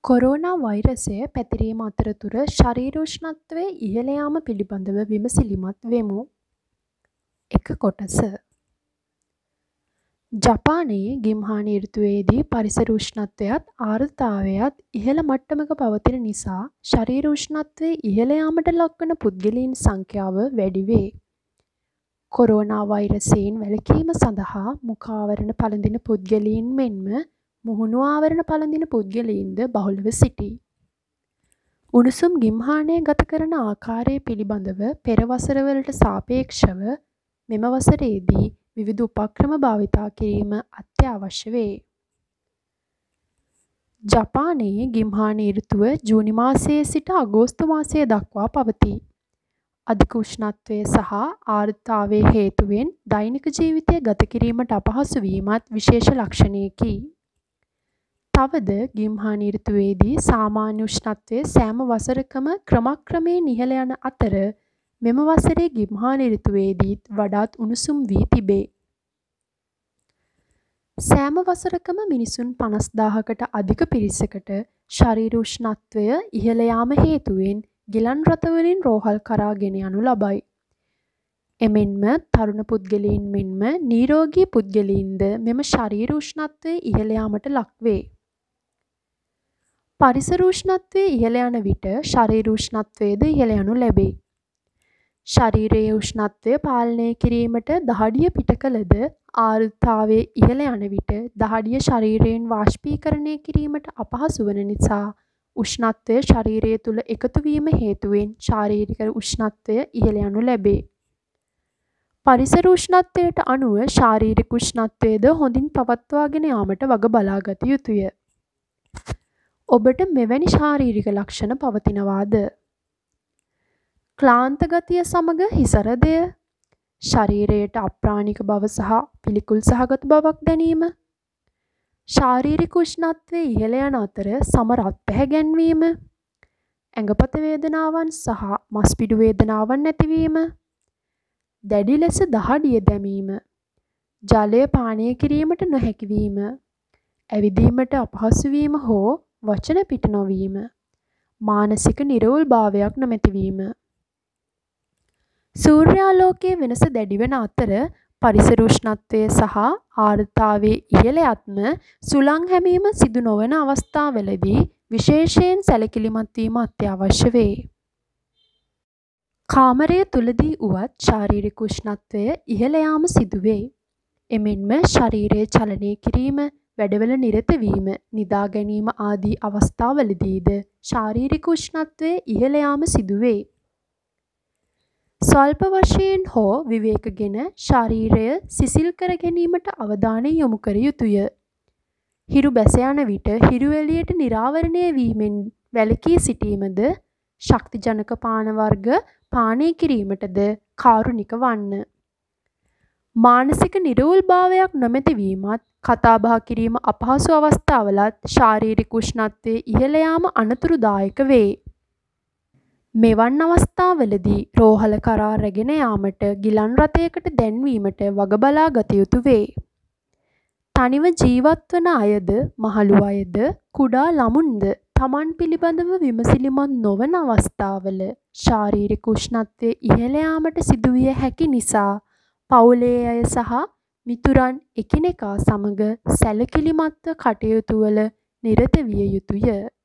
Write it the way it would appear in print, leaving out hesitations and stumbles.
Corona වෛරසය පැතිරීම අතරතුර ශරීර උෂ්ණත්වයේ ඉහළ යාම පිළිබඳව විමසිලිමත් වෙමු. 1 කොටස. ජපානයේ ගිම්හාන ඍතුවේදී පරිසර උෂ්ණත්වයත් ආර්ද්‍රතාවයත් ඉහළ මට්ටමක පවතින නිසා ශරීර උෂ්ණත්වයේ ඉහළ යාමට ලක්වන පුද්ගලයන් සංඛ්‍යාව වැඩි වේ. කොරෝනා වෛරසයෙන් වැළකීම සඳහා මුඛාවරණ පළඳින පුද්ගලයන් මෙන්ම මුහුණු ආවරණ පළඳින පුද්ගලයින්ද බහුලව සිටී. උණුසුම් ගිම්හානය ගත කරන ආකාරය පිළිබඳව පෙර වසරවලට සාපේක්ෂව මෙම වසරේදී විවිධ උපක්‍රම භාවිතා කිරීම අත්‍යවශ්‍ය වේ. ජපානයේ ගිම්හාන ඍතුව ජූනි මාසයේ සිට අගෝස්තු මාසය දක්වා පවතී. අධික උෂ්ණත්වය සහ ආර්ද්‍රතාවයේ හේතුවෙන් දෛනික ජීවිතය ගත කිරීමට අපහසු වීමත් විශේෂ ලක්ෂණයකි. තවද ගිම්හාන ඍතුවේදී සාමාන්‍ය උෂ්ණත්වය සෑම වසරකම ක්‍රමක්‍රමයෙන් ඉහළ යන අතර මෙම වසරේ ගිම්හාන ඍතුවේදීත් වඩාත් උණුසුම් වී තිබේ. සෑම වසරකම මිනිසුන් 50000කට අධික පිරිසකට ශරීර උෂ්ණත්වය ඉහළ යාම හේතුවෙන් ගිලන් රථවලින් රෝහල් කරා ගෙන යනු ලබයි. එමෙන්ම තරුණ පුද්ගලයන් මෙන්ම නිරෝගී පුද්ගලයින්ද මෙම ශරීර උෂ්ණත්වය ඉහළ යාමට ලක්වේ. පරිසර උෂ්ණත්වය ඉහළ යන විට ශරීර උෂ්ණත්වයද ඉහළ යනු ලැබේ. ශරීරයේ උෂ්ණත්වය පාලනය කිරීමට දහඩිය පිට කළද ආර්ද්‍රතාවය ඉහළ යන විට දහඩිය ශරීරයෙන් වාෂ්පීකරණය කිරීමට අපහසු වන නිසා උෂ්ණත්වය ශරීරය තුළ එකතු වීම හේතුවෙන් ශාරීරික උෂ්ණත්වය ඉහළ යනු ලැබේ. පරිසර උෂ්ණත්වයට අනුව ශාරීරික උෂ්ණත්වයද හොඳින් පවත්වාගෙන යාමට වග බලා ගත යුතුය. ඔබට මෙවැනි ශාරීරික ලක්ෂණ පවතිනවාද? ක්ලාන්ත ගතිය සමග හිසරදය, ශරීරයට අප්‍රාණික බව සහ පිළිකුල් සහගත බවක් දැනීම, ශාරීරික උෂ්ණත්වය ඉහළ යන අතර සම රත් පැහැ ගැන්වීම, ඇඟපත වේදනාවන් සහ මස්පිඩු වේදනාවන් ඇතිවීම, දැඩි ලෙස දහඩිය දැමීම, ජලය පානය කිරීමට නොහැකි වීම, ඇවිදීමට අපහසු වීම හෝ වචන පිට නොවීම, මානසික නිරවුල්භාවයක් නොමැතිවීම. සූර්යාලෝකයේ වෙනස දැඩි වන අතර පරිසර උෂ්ණත්වය සහ ආර්ද්‍රතාවයේ ඉහළ යත්ම සුළං හැමීම සිදු නොවන අවස්ථාවලදී විශේෂයෙන් සැලකිලිමත් වීම අත්‍යවශ්‍ය වේ. කාමරය තුලදී වුවත් ශාරීරික උෂ්ණත්වය ඉහළ යාම සිදුවේ. එමෙන්ම ශරීරය චලනය කිරීම, වැඩවල නිරත වීම, නිදා ගැනීම ආදී අවස්ථාවලදීද ශාරීරික උෂ්ණත්වය ඉහළ යාම සිදුවේ. ස්වල්ප වශයෙන් හෝ විවේකගෙන ශරීරය සිසිල් කර ගැනීමට අවධානය යොමු කර යුතුය. හිරු බැස යන විට හිරු එළියට නිරාවරණය වීමෙන් වැළකී සිටීමද ශක්තිජනක පාන වර්ග පානය කිරීමටද කාරුණික වන්න. මානසික නිරවුල්භාවයක් නොමැති වීමත් කතාබහ කිරීම අපහසු අවස්ථාවලත් ශාරීරික උෂ්ණත්වයේ ඉහළ යාම අනතුරුදායක වේ. මෙවන් අවස්ථාවලදී රෝහල කරා රැගෙන යාමට ගිලන් රථයකට දැන්වීමට වග බලා ගත යුතු වේ. තනිව ජීවත් වන අයද මහලු අයද කුඩා ළමුන්ද තමන් පිළිබඳව විමසිලිමත් නොවන අවස්ථාවල ශාරීරික උෂ්ණත්වය ඉහළ යාමට සිදුවිය හැකි නිසා පවුලේ අය සහ මිතුරන් එකිනෙකා සමග සැලකිලිමත්ව කටයුතු වල නිරත විය යුතුය.